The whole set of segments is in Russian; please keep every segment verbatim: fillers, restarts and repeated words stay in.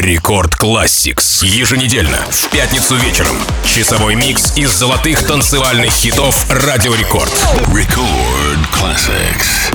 Рекорд Classics. Еженедельно, в пятницу вечером. Часовой микс из золотых танцевальных хитов Радио Рекорд. Record Classics.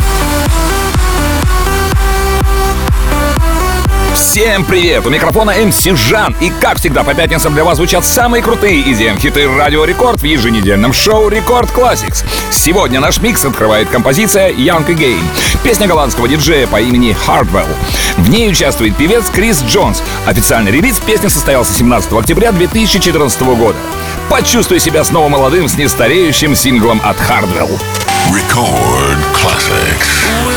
Всем привет! У микрофона эм си Жан. И как всегда по пятницам для вас звучат самые крутые и ди эм-хиты Радио Рекорд в еженедельном шоу Рекорд Classics. Сегодня наш микс открывает композиция Young Again. Песня голландского диджея по имени Hardwell. В ней участвует певец Крис Джонс. Официальный релиз песни состоялся семнадцатого октября две тысячи четырнадцатого года. Почувствуй себя снова молодым с нестареющим синглом от Hardwell. Record Classics.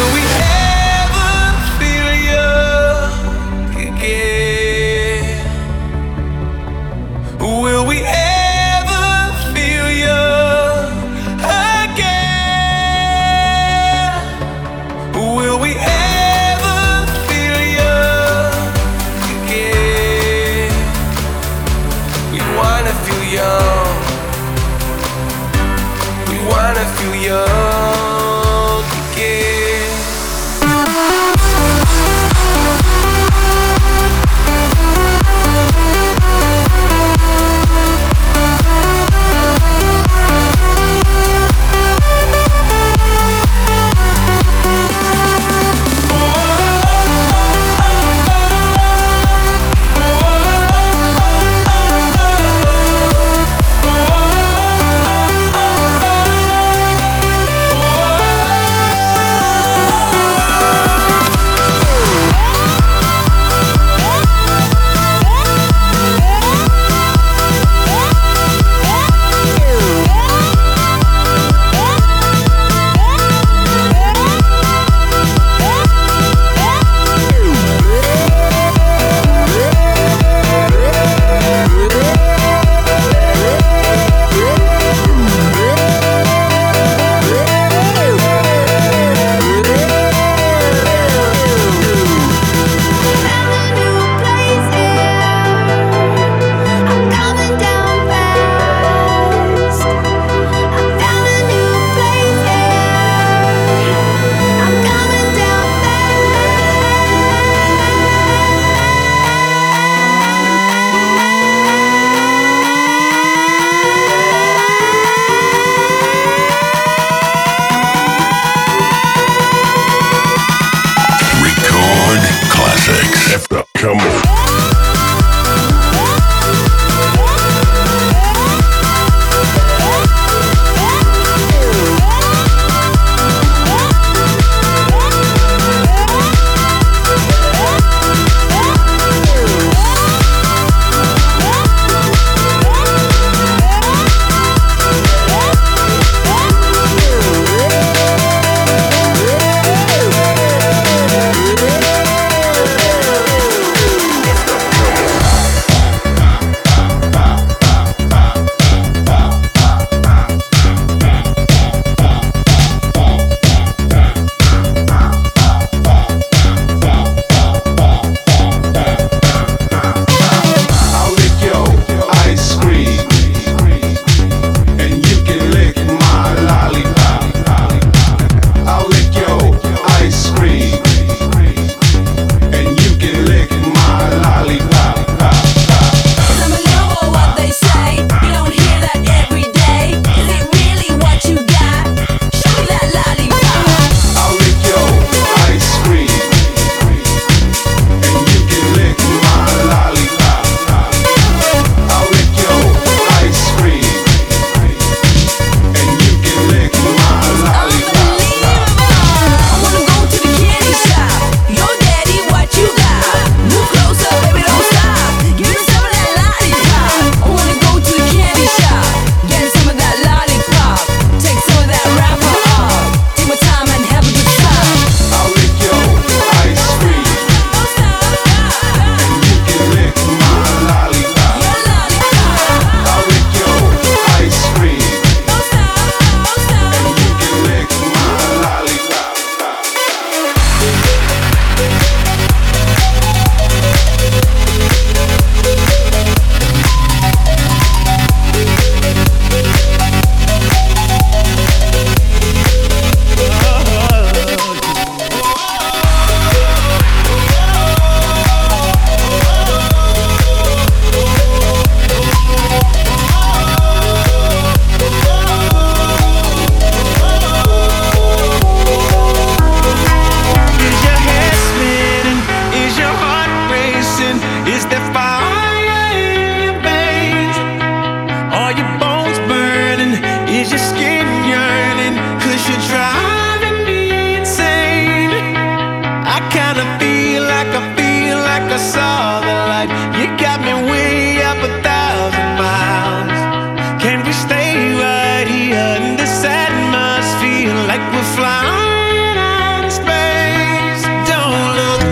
missing is that fire in your veins. Are your bones burning? Is your skin yearning? Cause you're driving me insane. I kinda feel like I feel like I saw the light. You got me way up a thousand miles. Can we stay right here in this atmosphere like we're flying out in space? Don't look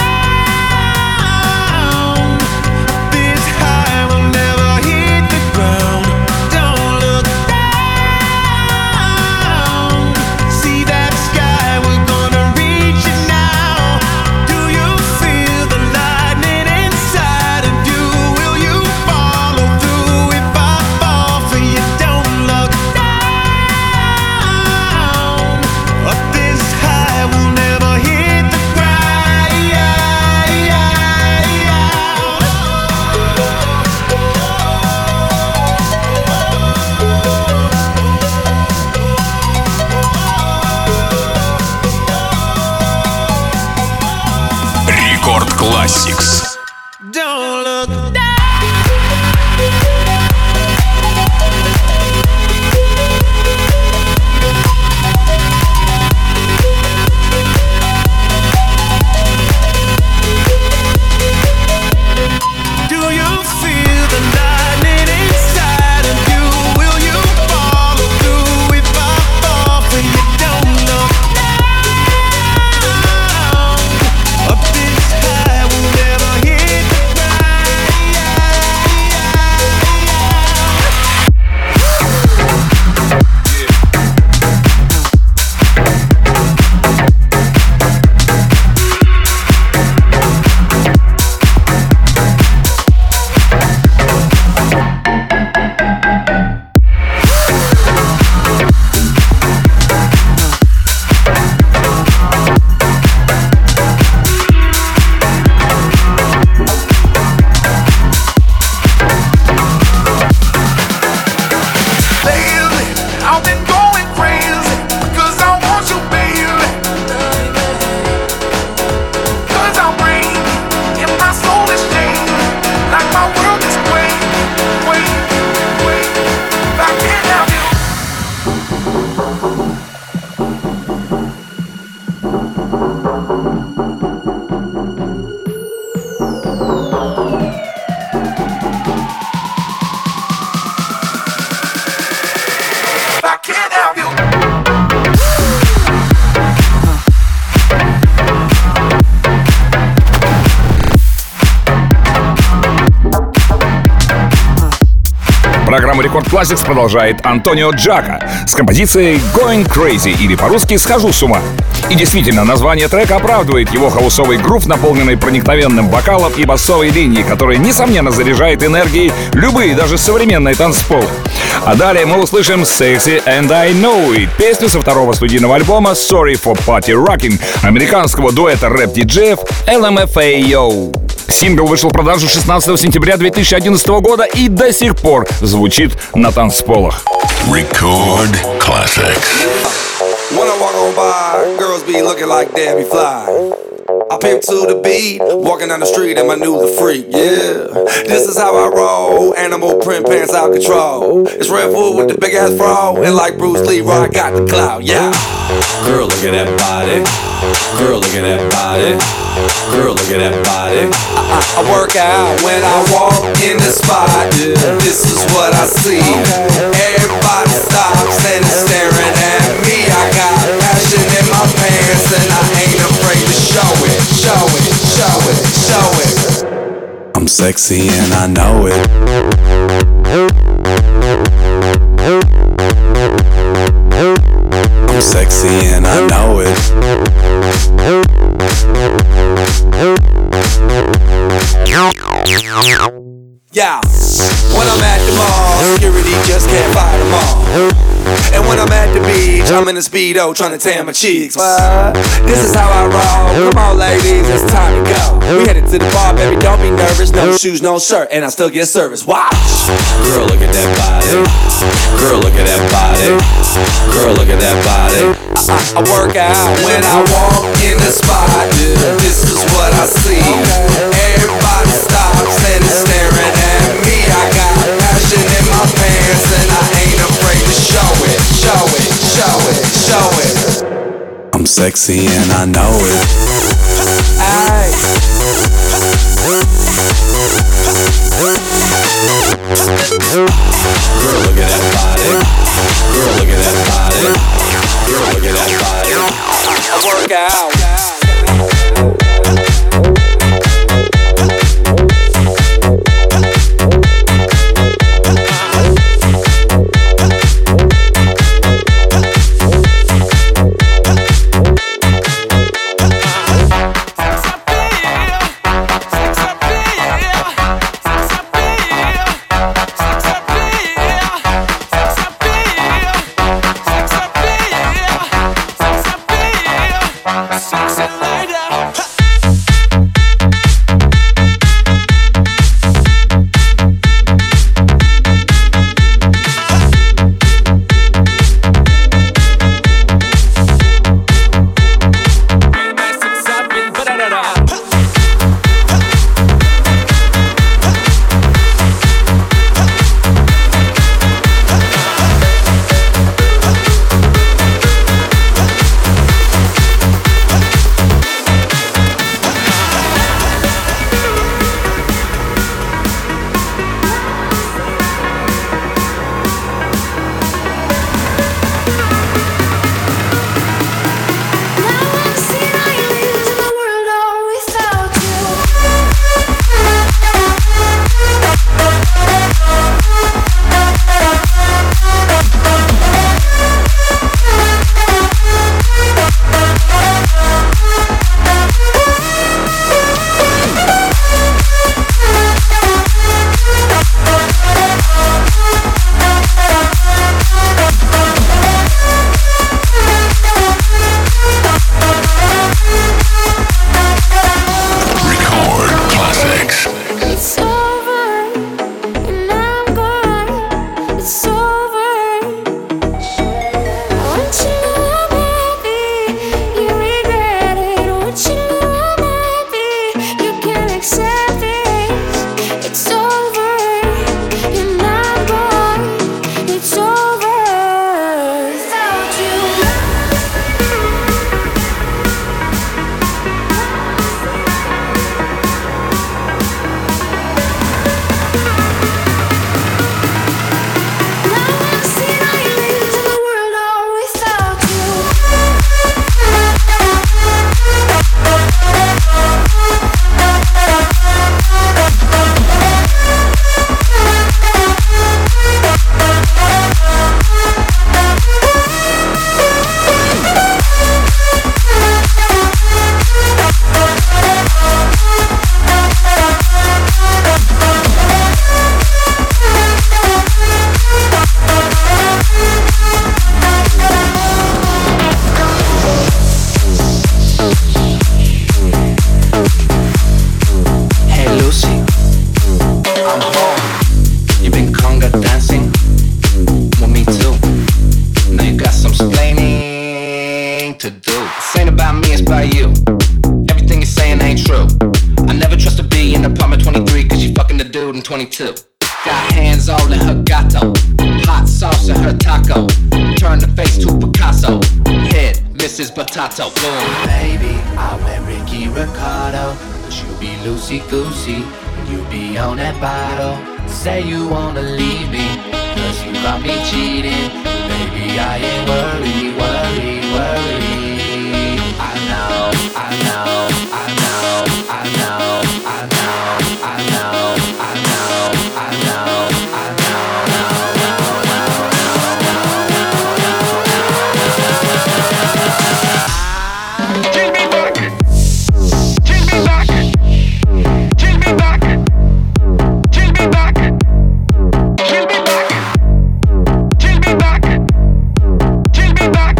down. This high will never hit the ground. Don't look down. See that sky, we're gonna reach it now. Do you feel the lightning inside of you? Will you follow through if I fall for you? Don't look down. Up this high, we'll never hit the Рекорд Classics. Don't look down. Do you feel the lightning inside of you? Will you follow through if I fall for you? Don't look down. Up this high, we'll never hit the Lately, I've been going crazy, cause I want you, baby. Cause I'm raining, and my soul is changing, like my world is waiting, waiting, waiting. If I can't have you. If I can't have you. Программу Рекорд Classics продолжает Антонио Джака с композицией Going Crazy, или по-русски «Схожу с ума». И действительно, название трека оправдывает его хаусовый грув, наполненный проникновенным вокалом и басовой линией, которая, несомненно, заряжает энергией любые, даже современные танцполы. А далее мы услышим «Sexy and I Know It», песню со второго студийного альбома «Sorry for Party Rocking» американского дуэта рэп-диджеев эл эм эф эй Yo. Сингл вышел в продажу шестнадцатого сентября две тысячи одиннадцатого года и до сих пор звучит на танцполах. Record Classics. When I walk on by, girls be looking like Debbie Fly. I pimp to the beat, walking down the street and my new the freak, yeah. This is how I roll, animal print pants out control. It's Red Bull with the big ass fro, and like Bruce Lee, I got the clout, yeah. Girl, look at that body. Girl, look at that body. Girl, look at that body. I, I, I work out when I walk in the spot. This is what I see. Everybody stops and is staring at me. I got passion in my pants and I ain't afraid to show it, show it, show it, show it. I'm sexy and I know it. I'm sexy and I know it. Yeah, when I'm at the mall, security just can't fight them all. And when I'm at the beach, I'm in a Speedo trying to tan my cheeks. What? This is how I roll. Come on, ladies, it's time to go. We headed to the bar, baby, don't be nervous. No shoes, no shirt, and I still get service. Watch. Girl, look at that body. Girl, look at that body. Girl, look at that body. I, I, I work out when I walk in the spot. This is what I see. Everybody sexy and I know it. Ay. Girl, look at that body. Girl, look at that body. Girl, look at that body. I work out. twenty-two. Got hands all in her gato, hot sauce in her taco. Turn the face to Picasso, head Missus Potato. Boom. Baby, I wear Ricky Ricardo, but you be loosey goosey, you be on that bottle. Say you wanna leave me, cause you got me cheating. Baby, I ain't worried, worried, worried. I know, I know, I know, I know, I know, I know, I know, I know, I know, no, no, no, no, no, no, no. Take me back, take me back, take me back, take me back, take me back, take me back, take me back.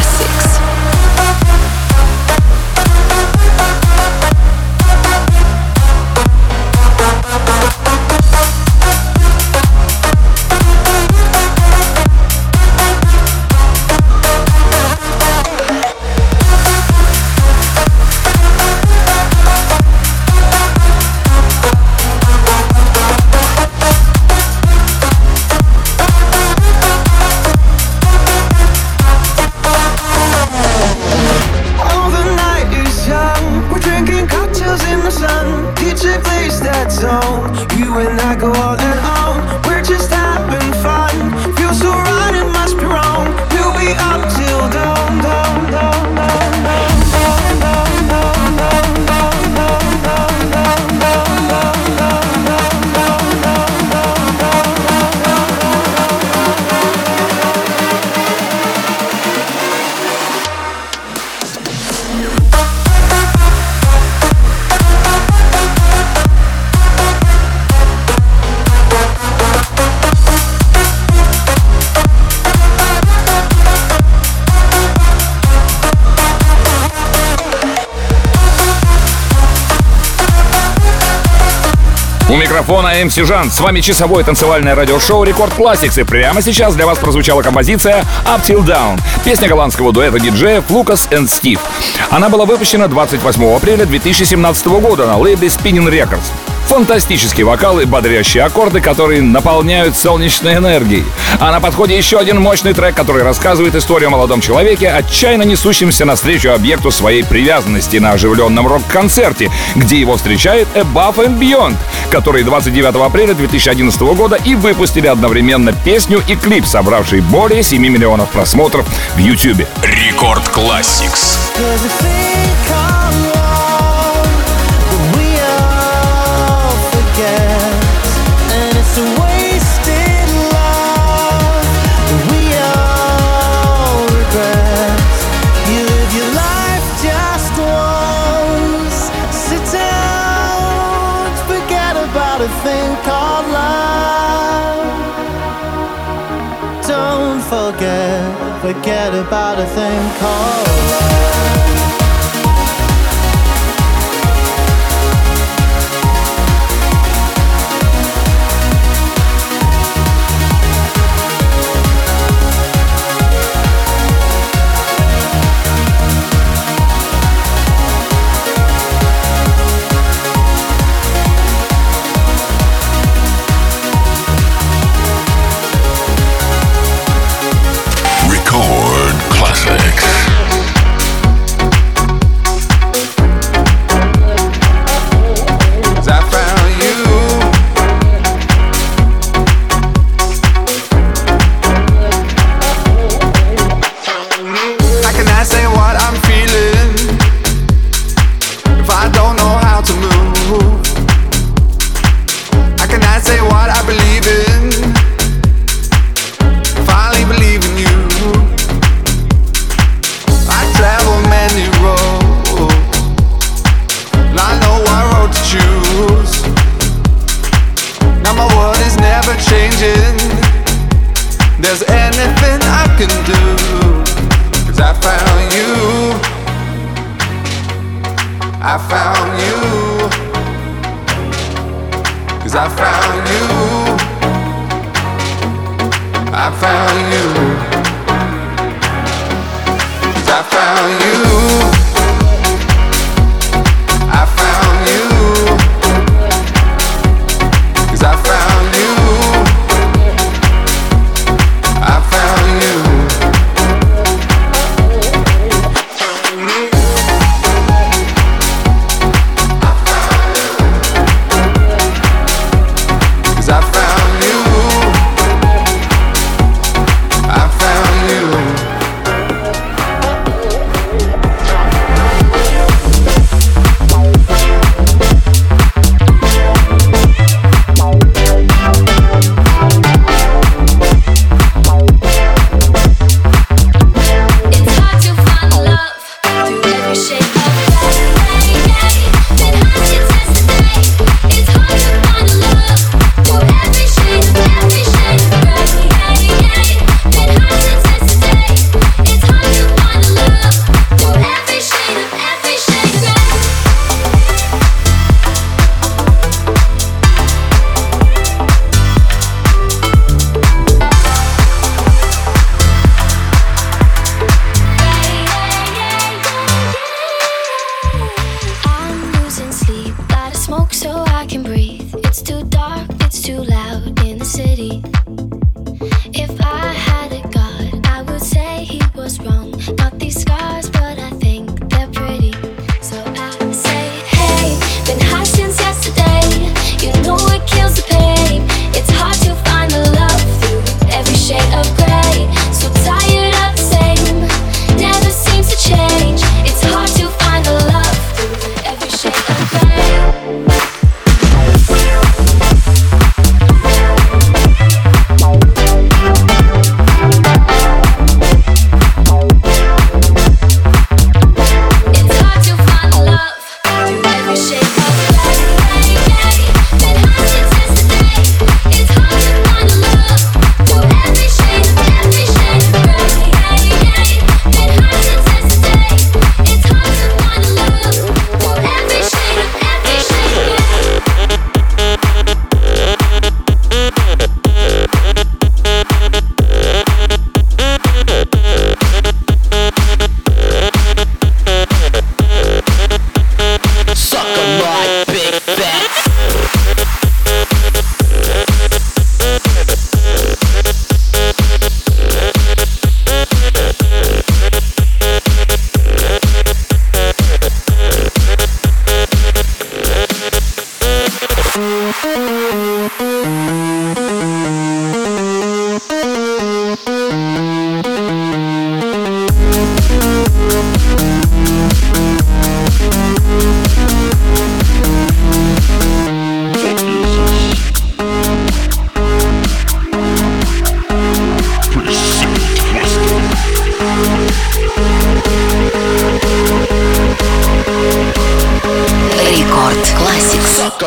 Classics. У микрофона эм си Жан. С вами часовое танцевальное радиошоу Рекорд Classics. И прямо сейчас для вас прозвучала композиция Up Till Down. Песня голландского дуэта диджеев Lucas and Steve. Она была выпущена двадцать восьмого апреля две тысячи семнадцатого года на лейбле Spinning Records. Фантастический вокал и бодрящие аккорды, которые наполняют солнечной энергией. А на подходе еще один мощный трек, который рассказывает историю о молодом человеке, отчаянно несущемся навстречу объекту своей привязанности на оживленном рок-концерте, где его встречает Above and Beyond, которые двадцать девятого апреля две тысячи одиннадцатого года и выпустили одновременно песню и клип, собравший более семи миллионов просмотров в YouTube. Рекорд Classics. Forget about a thing called love.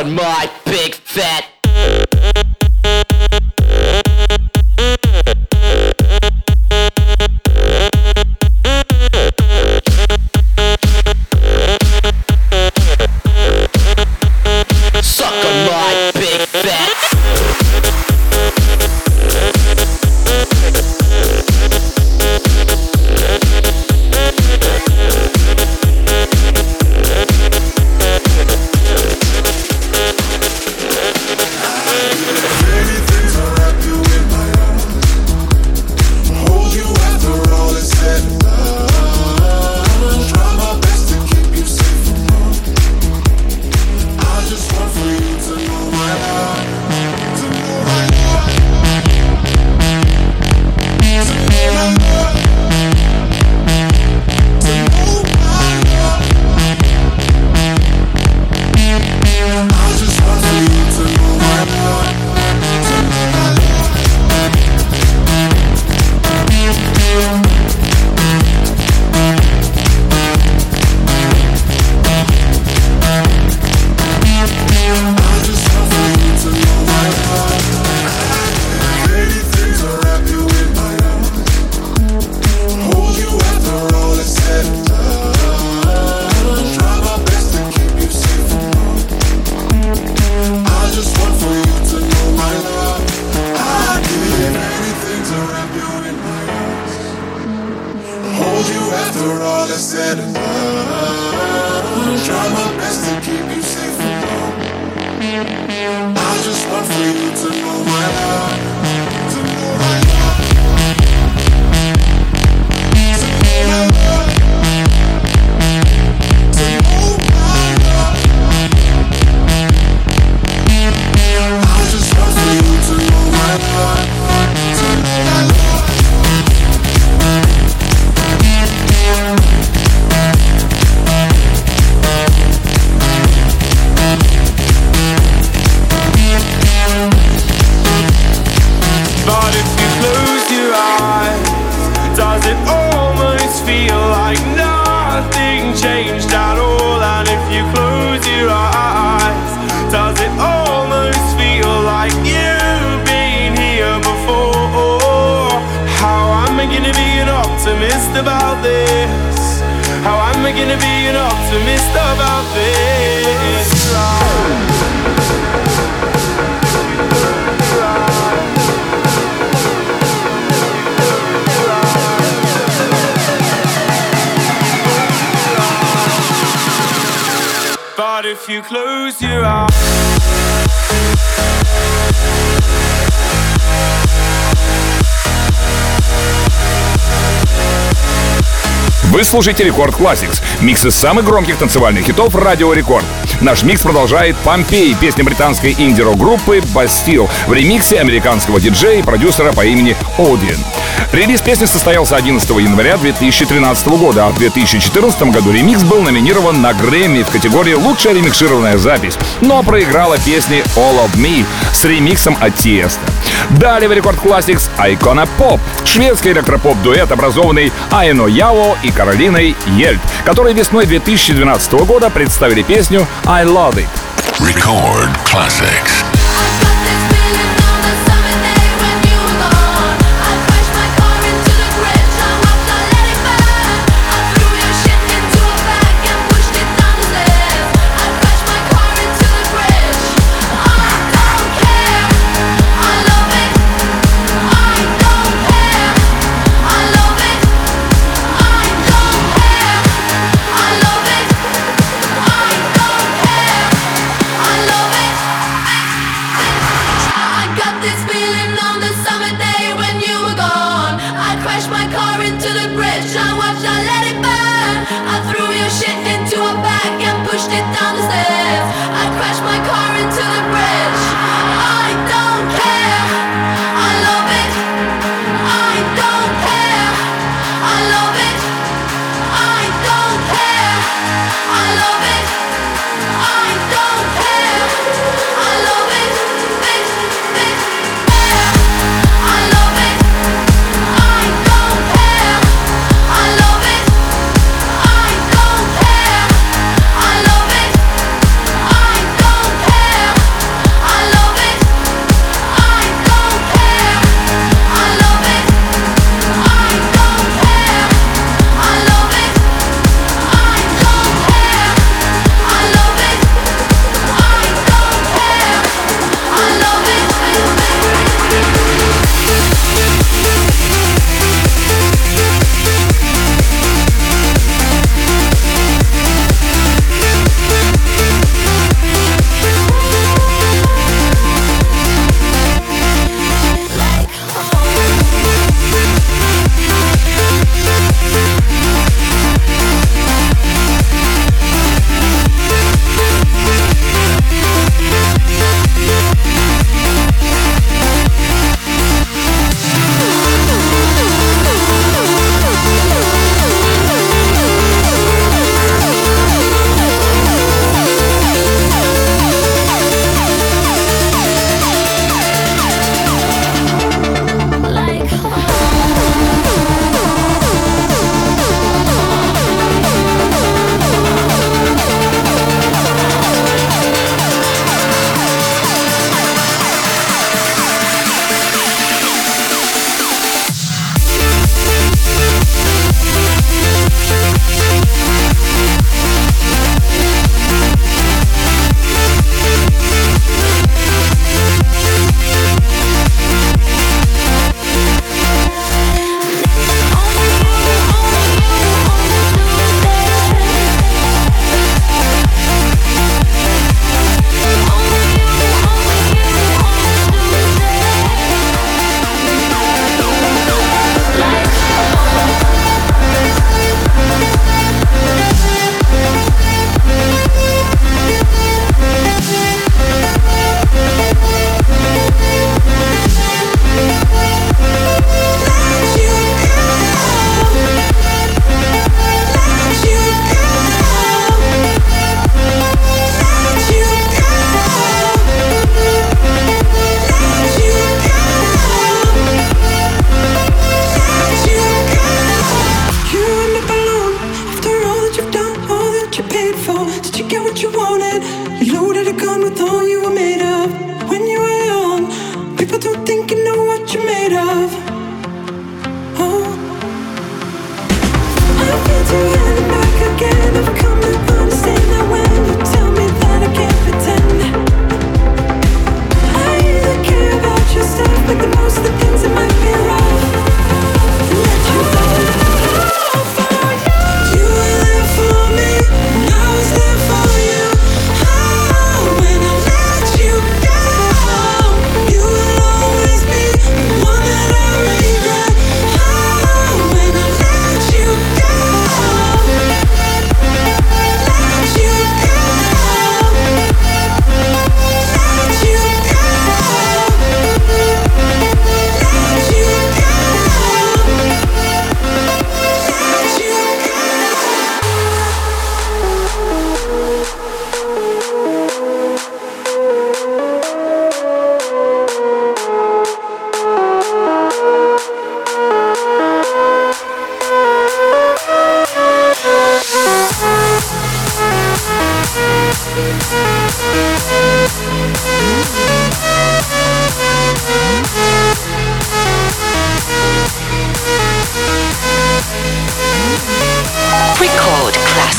on my big fat. Suck on my big fat. If you close your eyes. Вы слушаете Рекорд Classics, микс из самых громких танцевальных хитов Радио Рекорд. Наш микс продолжает «Помпей», песня британской инди-рок-группы Bastille в ремиксе американского диджея и продюсера по имени Одиен. Релиз песни состоялся одиннадцатого января две тысячи тринадцатого года, а в две тысячи четырнадцатом году ремикс был номинирован на Грэмми в категории «Лучшая ремикшированная запись», но проиграла песни «All of Me» с ремиксом от Тиеста. Далее в Рекорд Classics Icona Pop, шведский электропоп-дуэт, образованный Айно Яо и Каролиной Ельд, которые весной две тысячи двенадцатого года представили песню I Love It. Record Classics.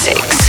Classics.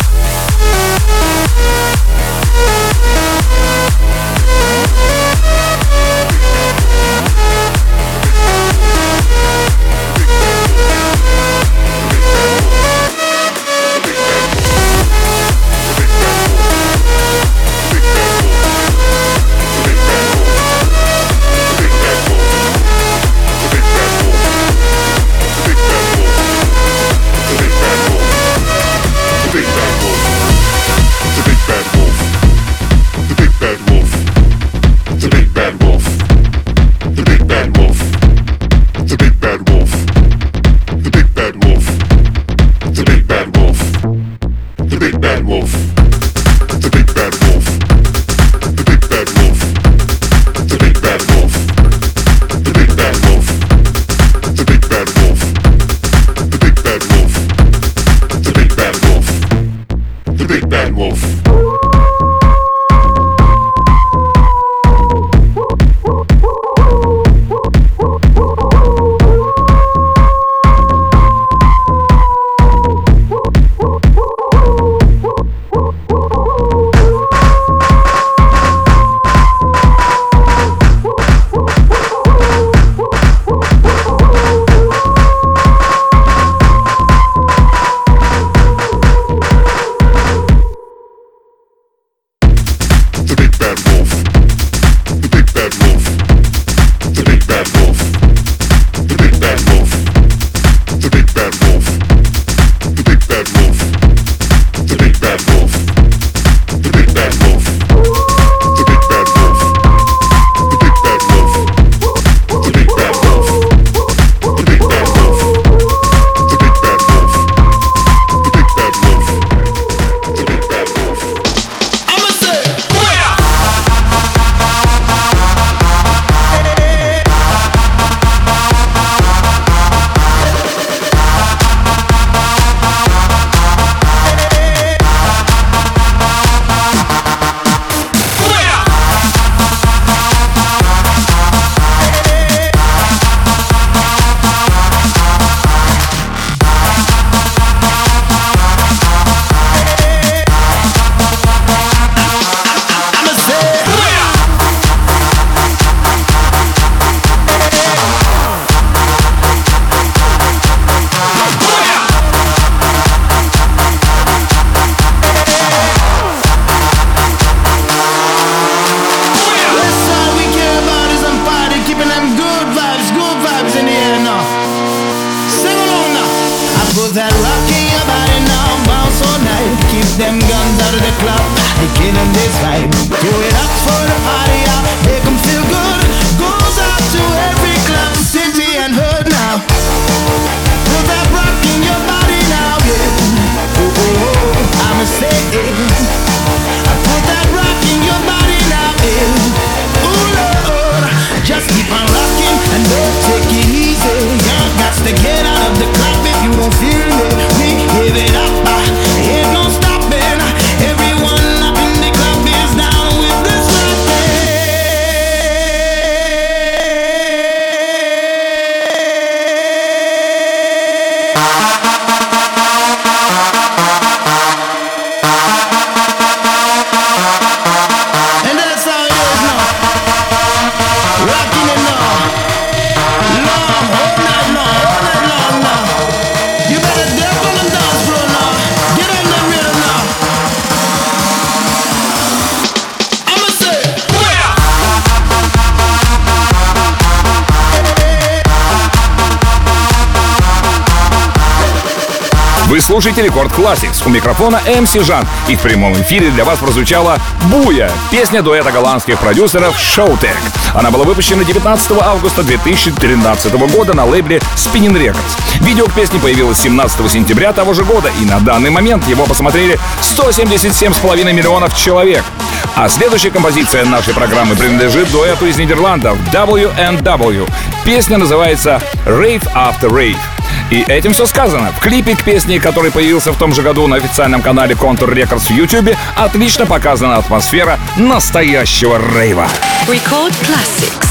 Вы слушаете Рекорд Classics. У микрофона эм си Жан. И в прямом эфире для вас прозвучала «Буя» — песня дуэта голландских продюсеров Showtek. Она была выпущена девятнадцатого августа две тысячи тринадцатого года на лейбле Spinnin' Records. Видео к песне появилось семнадцатого сентября того же года, и на данный момент его посмотрели сто семьдесят семь с половиной миллионов человек. А следующая композиция нашей программы принадлежит дуэту из Нидерландов дабл ю энд дабл ю. Песня называется «Rave After Rave». И этим все сказано. В клипе к песне, который появился в том же году на официальном канале Contour Records в YouTube, отлично показана атмосфера настоящего рейва. Record Classics.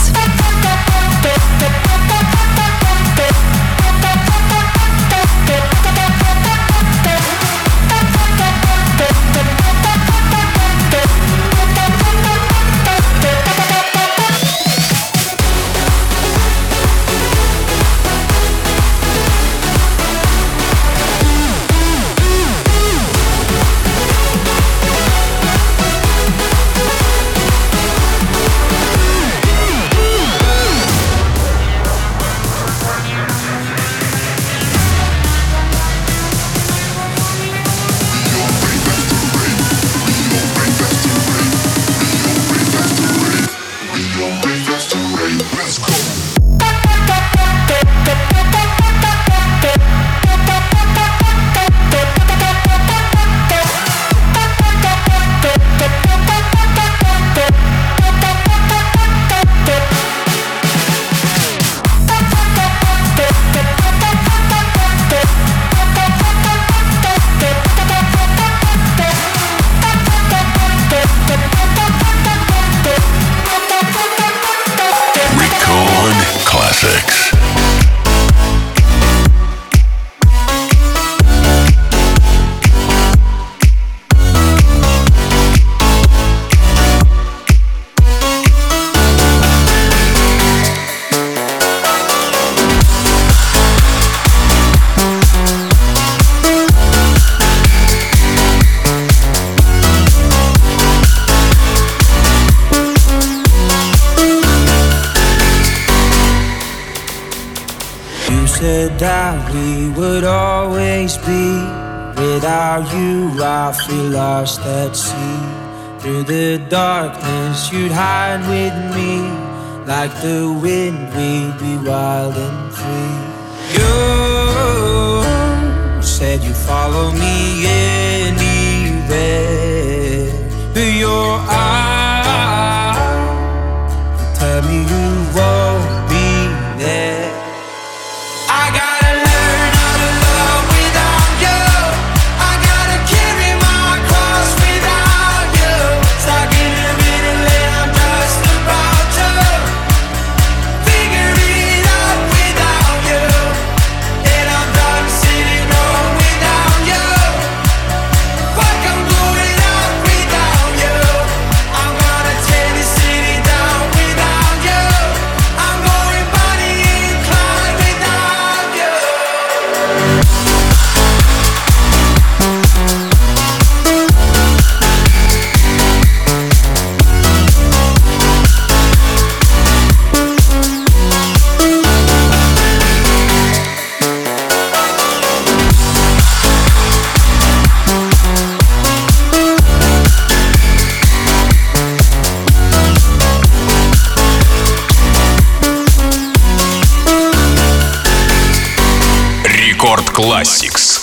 never doubt we would always be. Without you, I feel lost at sea. Through the darkness, you'd hide with me. Like the wind, we'd be wild and free. You said you'd follow me anywhere. But your eyes tell me you won't be there. I gotta learn how to love without you. I gotta carry my cross without you. Stuck in the middle and I'm just about to figure it out without you. And I'm done sitting home without you. Fuck, I'm going out without you. I'm gonna tear this city down without you. I'm going Bonnie and Clyde without you. Рекорд Classics.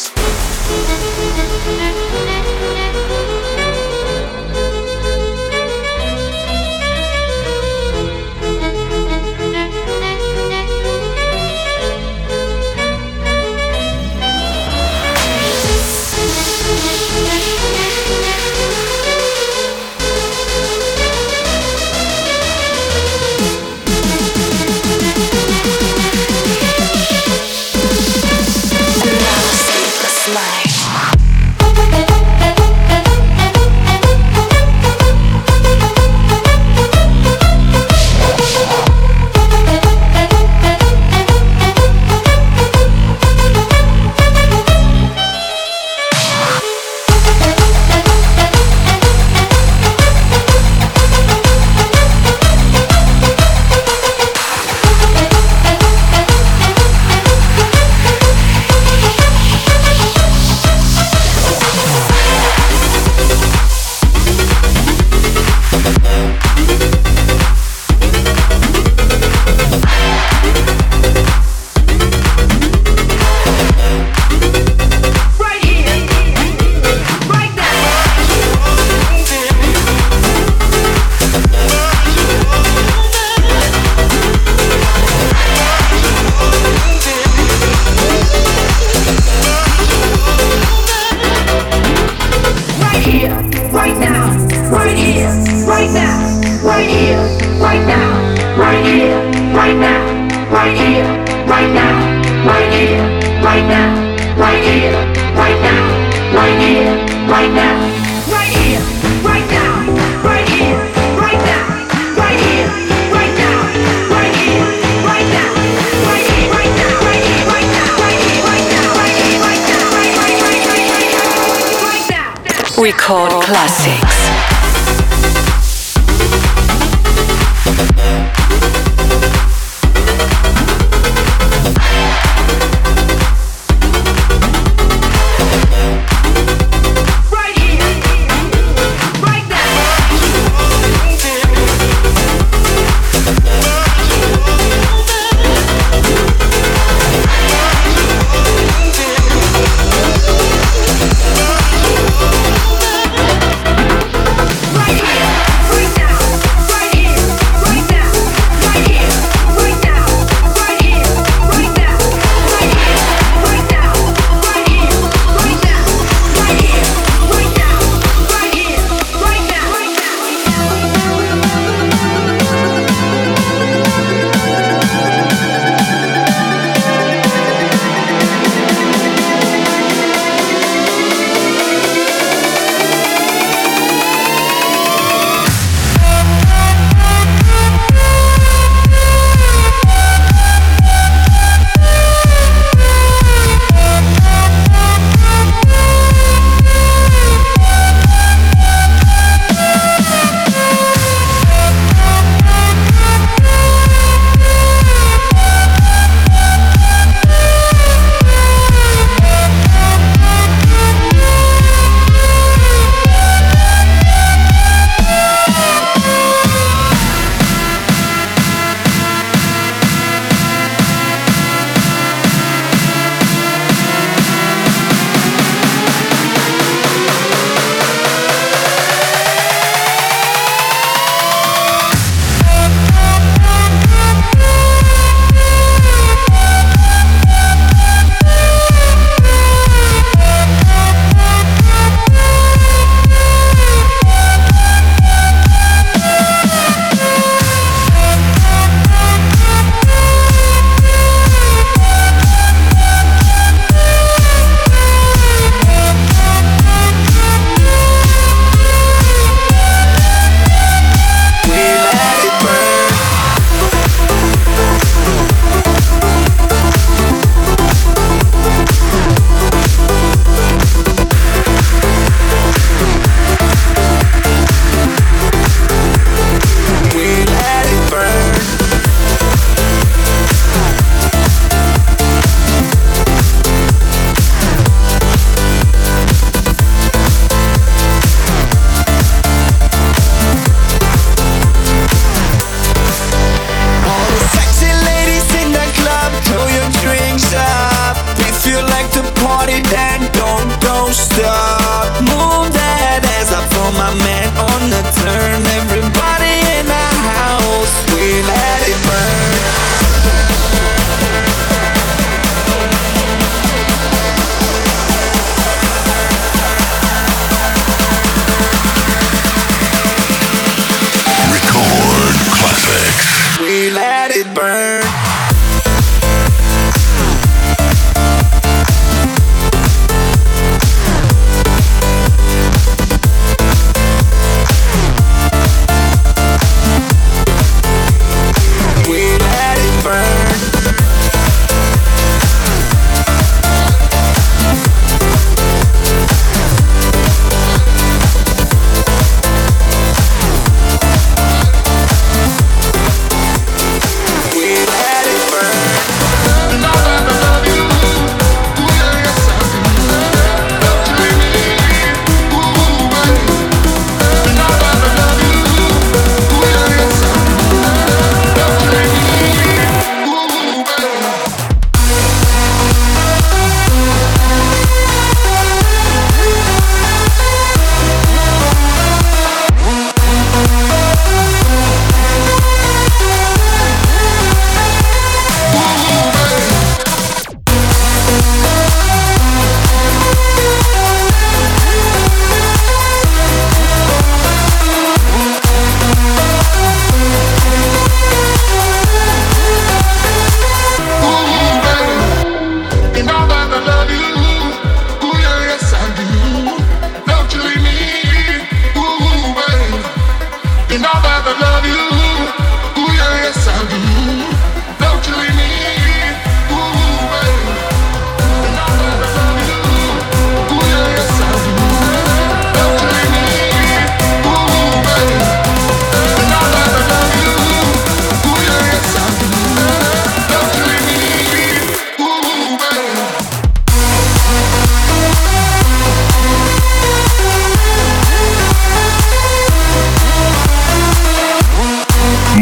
Record Classics. Right here, right now.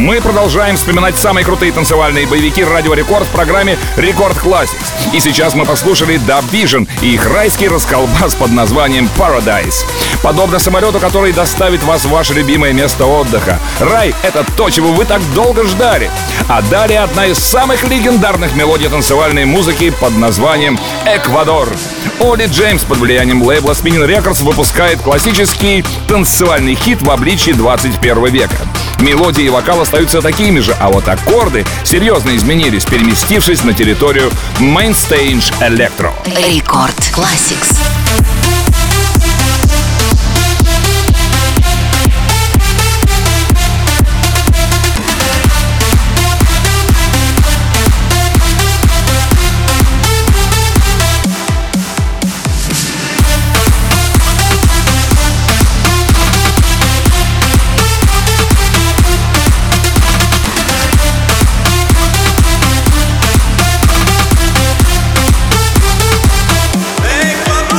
Мы продолжаем вспоминать самые крутые танцевальные боевики Радио Рекорд в программе Рекорд Classics. И сейчас мы послушали Dub Vision и их райский расколбас под названием Paradise. Подобно самолету, который доставит вас в ваше любимое место отдыха. Рай — это то, чего вы так долго ждали. А далее одна из самых легендарных мелодий танцевальной музыки под названием «Эквадор». Оли Джеймс под влиянием лейбла Spinnin' Records выпускает классический танцевальный хит в обличии двадцать первого века. Мелодии и вокал остаются такими же, а вот аккорды серьезно изменились, переместившись на территорию Mainstage Electro. Рекорд Classics. Ecuador.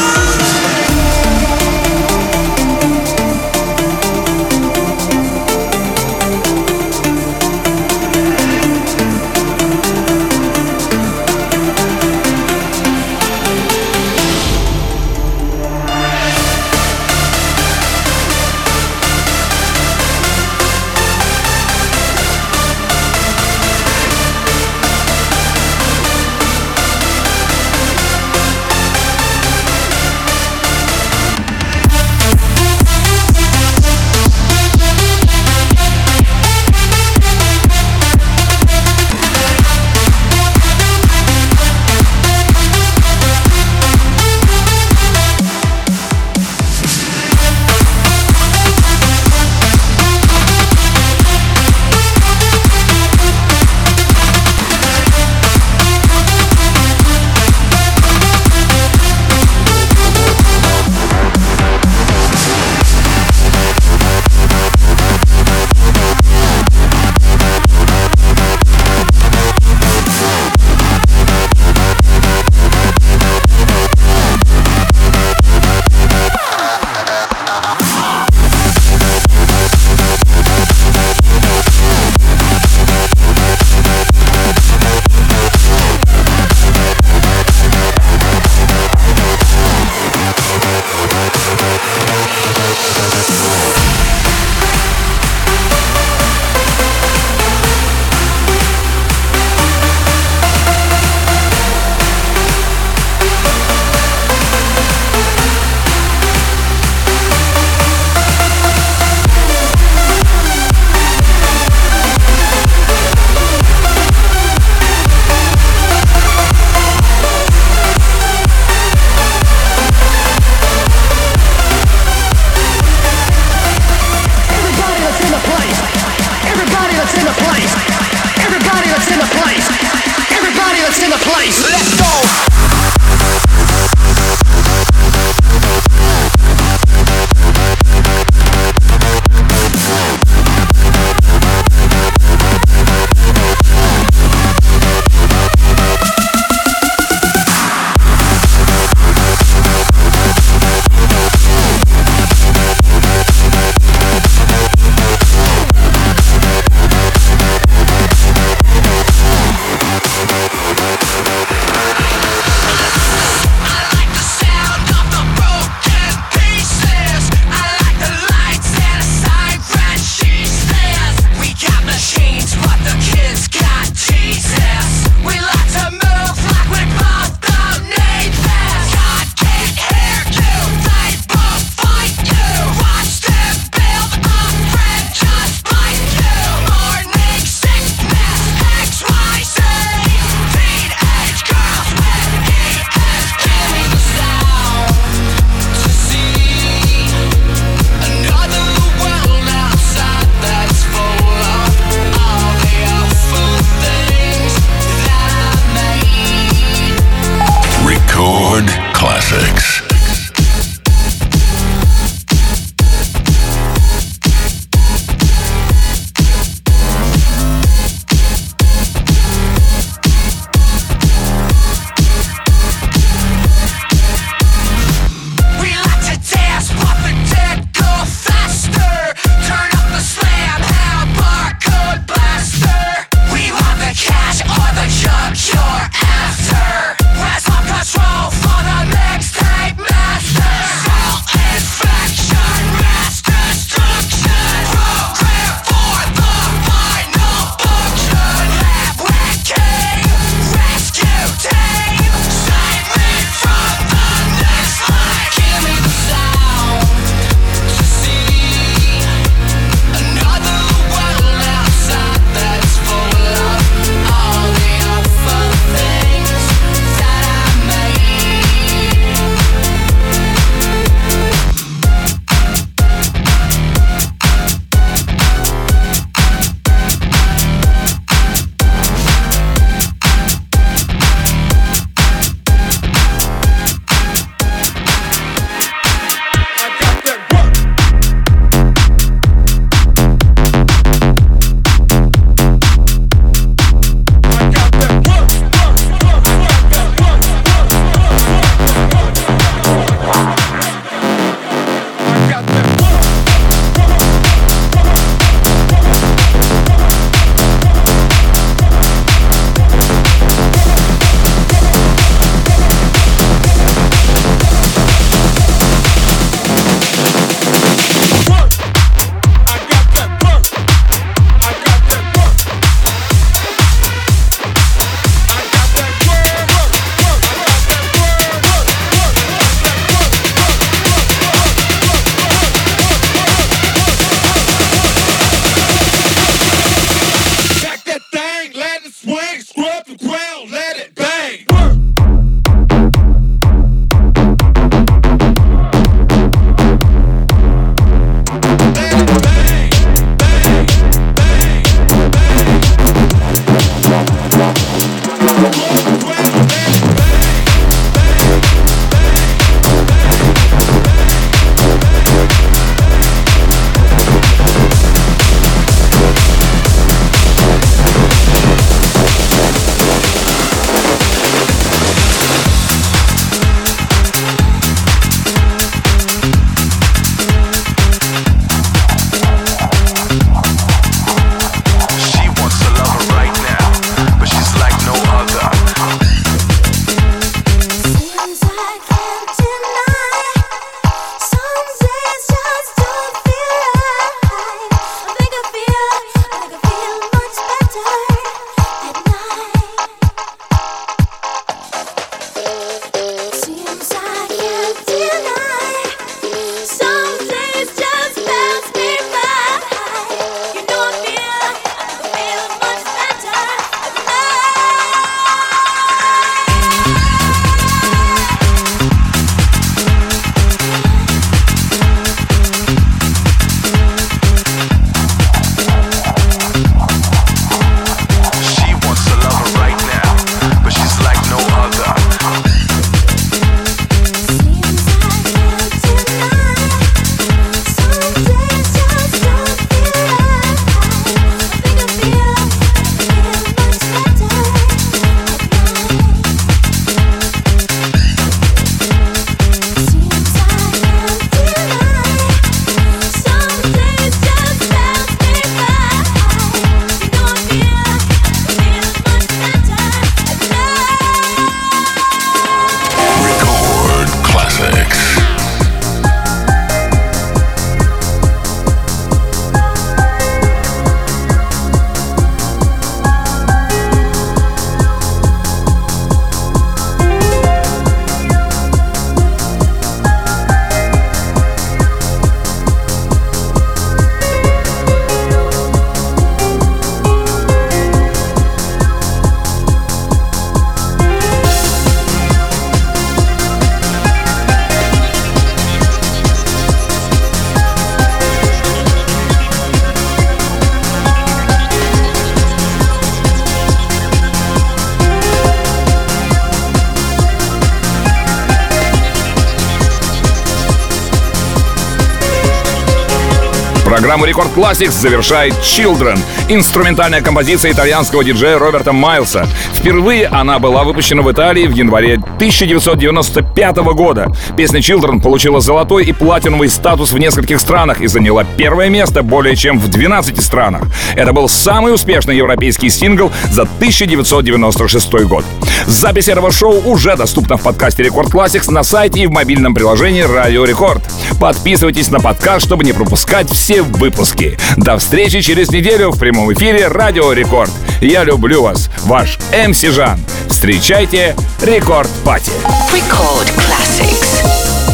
Программу Рекорд Classics завершает Children, инструментальная композиция итальянского диджея Роберта Майлса. Впервые она была выпущена в Италии в январе тысяча девятьсот девяносто пятого года. Песня Children получила золотой и платиновый статус в нескольких странах и заняла первое место более чем в двенадцати странах. Это был самый успешный европейский сингл за тысяча девятьсот девяносто шестой год. Запись этого шоу уже доступна в подкасте Рекорд Classics на сайте и в мобильном приложении Радио Рекорд. Подписывайтесь на подкаст, чтобы не пропускать все выпуски. До встречи через неделю в прямом эфире Радио Рекорд. Я люблю вас, ваш эм си Жан. Встречайте Рекорд Пати. Record Classics.